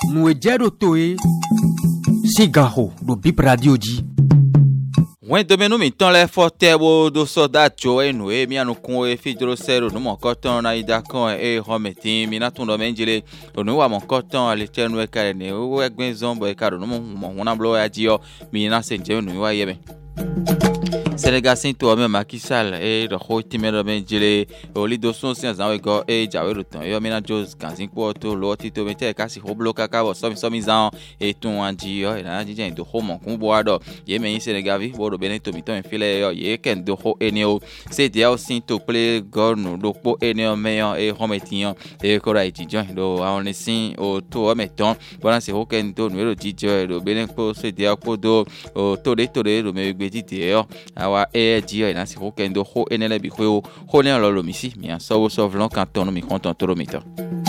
Nous ejero toe Sigaho do Bip Radio di. Wen domenu mi ton le forte bo do sodacho enu mi anu kun fidro sero no mo koton na idakon hometin mi na tun do menjile onu wa mo koton ale tenu e kare ne o egben zombo e karo no mo wona blo adio mi na senje nu wa yebe Sénégal to me Macky Sall e do khoti me do menjile o li do son sian zan we go e jawe ro ton yo mi na Jos kansin ko to lo ti to me te kasi ho bloka ka bo so mi zan e tun anji yo e na ji jen do ho mo kun bo ado ye me Sénégal vi bo do bene to mi to me file yo ye ken do ho eni o se dia o sin to play go no do po eni o me yo e ho metin e ko ra ji jon do a on sin o to o meton bona se ho ken to no ro ji jo do bene ko se dia ko do o to de do me gbe ji te yo wa dio na si ho kendo ho enele bi ho ne lo misi mi an so vlon kanton mi konton to mito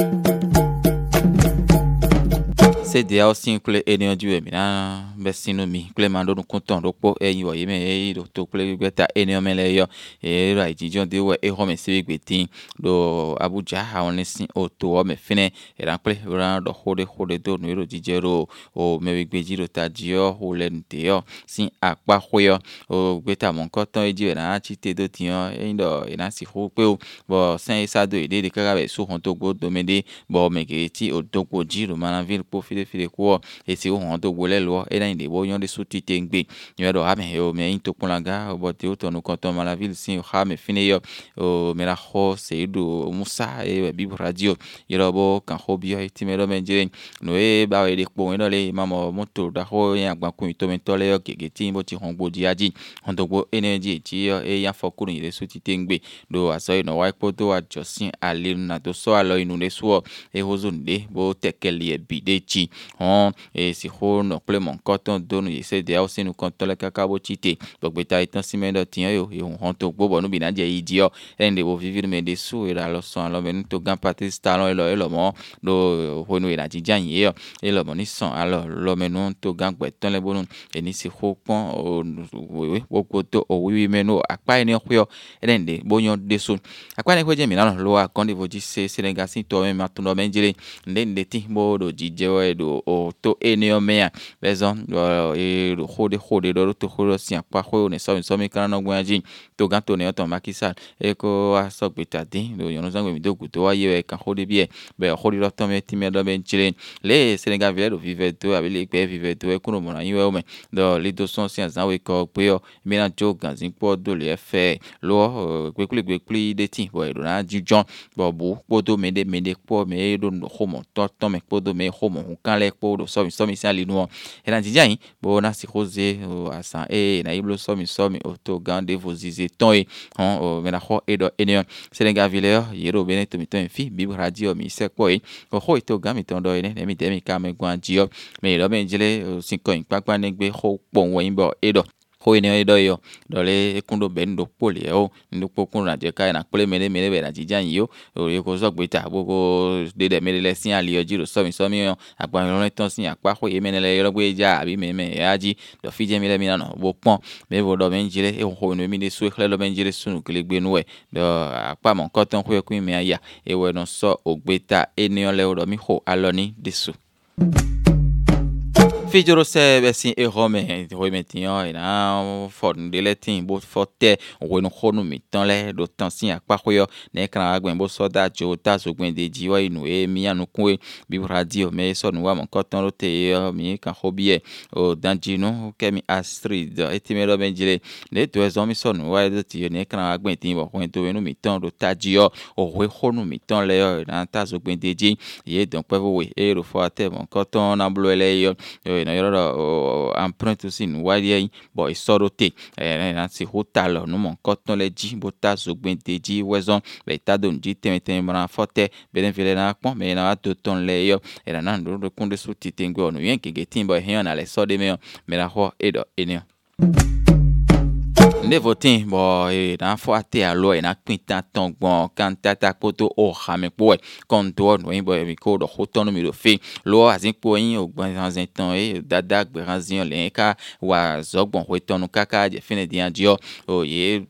c'est dia aussi que ene du mi na besino mi clemando no konton do po eyin wo yeme e do to ple gbeta ene o mele yo e ra ijijon de we e ho me se gbetin do Abuja awon nisin o to o me fine e ran ple ran do hode do no ero jijero o me gbeji ro tajio o lente yo sin apa hoyo o gbeta mon konton eji na chi te do tiyan e ndo e na si ho pe o bo sen isa do ide de kara be so hon to go do me de bo me ke ti o to go ji ro manaville po file ko e si o hon to go le lo e na inde bo yon de suti tengbe yo do ha me o me into ponlaga o bo te o to no konton manaville sin ha me fine yo o me la ho se do Musa e Bip Radio yo bo kan ho bi o ti me do menjire no e ba we de po no le mamo moto da ho yan gba kun to me to le yo gege ti bo ti hon gbo di aji hon to gbo energy ti yo e yan fokuru ile suti tengbe do aso ino wa ipo to wa josin ale na to so alo inu le so e hozunde bo tekeli e bide chi on e si ho no ple mon koton do no yese de aussi nous konton le kakabo chite gbogbe ta itan simendo tiyan yo e hon to gbo no bi na je idio ende bo vivir me de so e la lo so alo me to gan Patrice Talon e lo mo do ho no e na jijan ye yo e lo mo ni son alo lo me no to gan gbeton le bonu e ni si ho pon o we wo to o wi me no apa eni ho yo ende bo yon de so apa ni ho je mi na lo a kon de vo ji se Sénégal sin to me matun do menjire ndende ti bo do jije we do o to eni o me bezon e hode do to ho si apa ho ne so mi kan no gwaji to gan to ne to Macky Sall e ko aso gbetade do yon zan mi do guto wa ye kan hode bi e be hode do to me ti me do menjire le Sénégal vile do vive to abi le pe vive to e kuno mo na yin we o me do le do son si azan we ko pe yo mi na jo ganzin po do le fe lo gbekule de ti bo e do na jijon bo bu po do me de po me do no homo to me po do me homo kan le po do so mi si ali nu e na jijan bo na si rose asan e na iblo so mi o to gande vos ize ton e on me na ho e do enion Sénégal vile yero bene to mi ton fi Bip Radio mi se ko e ho to ga mi ton do e ne mi de mi ka me gwanji yo me lo me jile sin ko papa ne gbe ho pon wo yin bo e do ho ene edo yo dole kundo bendo poli o ndukpo kun na je kai na pole mele be na jijan yo o ye ko zo gbeta boko de mele le sin ali oji ro so mi yo agba mi ron ton sin apa ho ye menele yo gbe ja abi me aji do fi je mele mi na no bo pon me bo do menjire e ho no mi de so ekle lo menjire sunu kele gbe nu e do apa mon koton ho ku mi aya e we no so ogbeta eni o le o do mi ho aloni desu Fijoro se besin e home tiyan e na fon de letin bo forte o no honu mi tan le do tan sin apa koyo ne kan agben bo so da jo ta so gben de ji wa inu e mi anu kun e Bip Radio me so nu wa mon koton ro te mi kan hobie o danji no kemi Astrid e ti me ro benjile ne to ezo mi so nu wa de ti ne kan agben tin bo kun to enu mi tan do ta ji o we honu mi tan le na ta so gben de ji ye don pe we e ro fo ate mon koton na blo ele yo na yoro empreinte aussi nous wadi bo isorote na si hotalo no mon koton le ji bota zogbente ji wezon be ta don ji temeten mara forte beden vile na pon me na to ton le yo era na ndo do kunde suti tengo no yen ke getin bo hen na le so de me la ho edo enio ne votin bo na fo ate alo na pinta ton gbon kan tata poto o ha me po kon to no yin bo mi ko do hoton mi do fe lo azin po yin o gbon zan tan dada gberanzion le ka wa zogbon hoton kaka je fine di andio o ye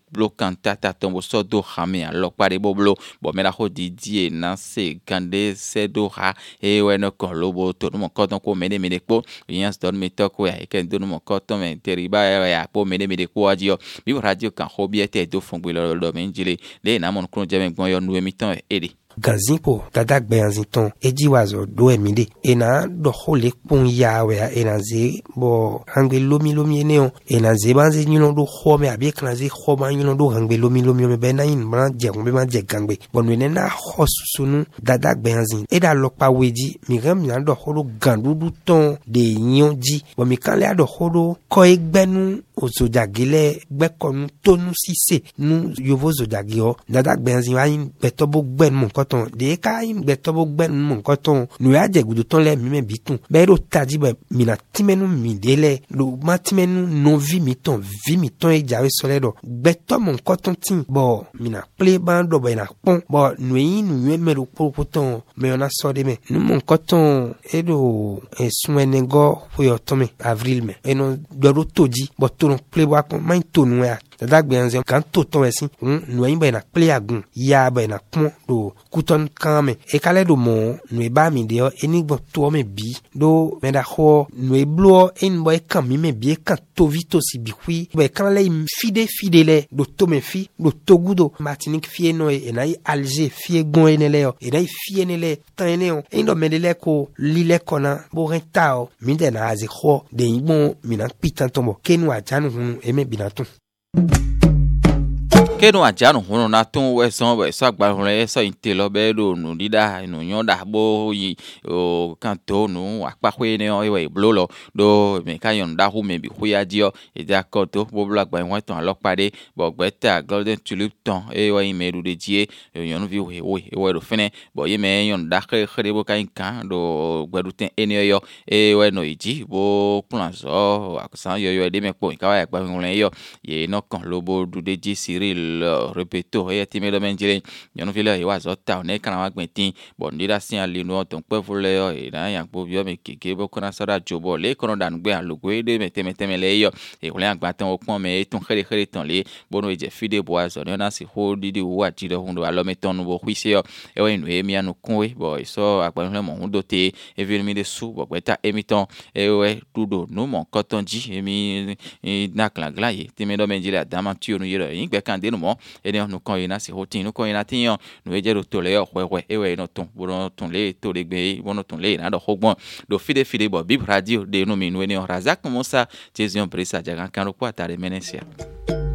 bloquant tata tombo so do hame alok pare boblo bo mera ho didie na se gande se do ha e we no kon lobo to mo koton ko mede po yans don me toko ya ken do mo koton me teriba ya po mede ko ajio bi radio kan hobie te do fongbe lo menjile le na mon kron jame gbon yo nu emiton ede Ganzimpo dadak beyanziton eji wazo do emide ena do hole pon yawe ena ze bo hangbe lomi eneo ena ze banze nyino do home abi klanze homa nyino do hangbe lomi me bena yin bran je ngbe ma je gangbe bonwe na hosusunu dadak beyanzin eda lokpa weji mi ram na do holo gandudu ton de nyonji bo mi kan le do holo ko egbenu ozojagile gbekonu tonu sise nu yovo zojagio dadak beyanzin wa yin betobo gben mon koton de ka im betobo gben mon koton nu ya je gudu ton le mi me bitun be ro taji be mina timenu mi dele lo matimenu no vi mi ton e jawe sole do beto mon koton tin bo mina play bando be na pon bo nu yin nu me ro poton me ona so de me nu mon koton edo eswenego fo yo tome avril me eno do toji bo to play wa kon main to nu ya dadak beyanzin kan to ton esin nu yin be na play agun ya be na pon do kuton kame e kale do mo nu ba mi de enigbo to me bi do me da ho nu blo en boy kan mi me bi kan to vito si bi hui be kan le fide do to me fi do togudo Martinique fie no e na Alger fie gon enele o e na fie enele tan eneo en do medele ko lile kona bo rentao mi de na azi ho de ibon mi na pitan tombo kenu ajanu hunu e me binatun kenu ajanu hono na ton we so agba hono e so inte lo be do nu dida nu yonda bo yi o kanto nu apa hwe ne o we blolo do me ka yonda hu me bi hwe adio e ja koto bo bla gba won ton alopade bo gbeta golden tulip ton e we me du de die yonu vi we do fene bo ye me yonda khere bo kan do gbadu ten ene yo e we no iji bo plan so akusan yo de me po ka wa gba won yo ye no kan lobo du de ji Cyril repeto e timi do menjile yonu vile e wazo ta ne kana wa gbentin bon dira sin ali no ton pe vule yo e na yan po bio me keke bo kona sara jobo le kono dan gbe alugwe de meteme le yo e wole agba tan opon me ton khere ton le bono e je fide bo azo ne na si ho didi wa jide hundo alo meton no bo hwise yo e we nu e mi anu kunwe bo so agba le mo hundo te e vil mi de su bo gbeta emiton e we dudo no mon kotonji e mi na klangla ye timi do menjile adamantu no yero yin gbe kan de no ene no kon ina si hotin no kon ina tin no eje ro to le hwewe ewe no ton bono ton le to le gbe bono ton le na do hogbon do fide bo bib radio de no mi no ene razak musa tezion presa jagan kan ro kwa tare menesia